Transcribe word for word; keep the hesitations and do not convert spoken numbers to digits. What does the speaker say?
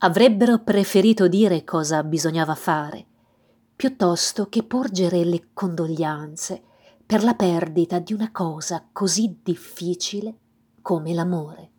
avrebbero preferito dire cosa bisognava fare, piuttosto che porgere le condoglianze per la perdita di una cosa così difficile come l'amore.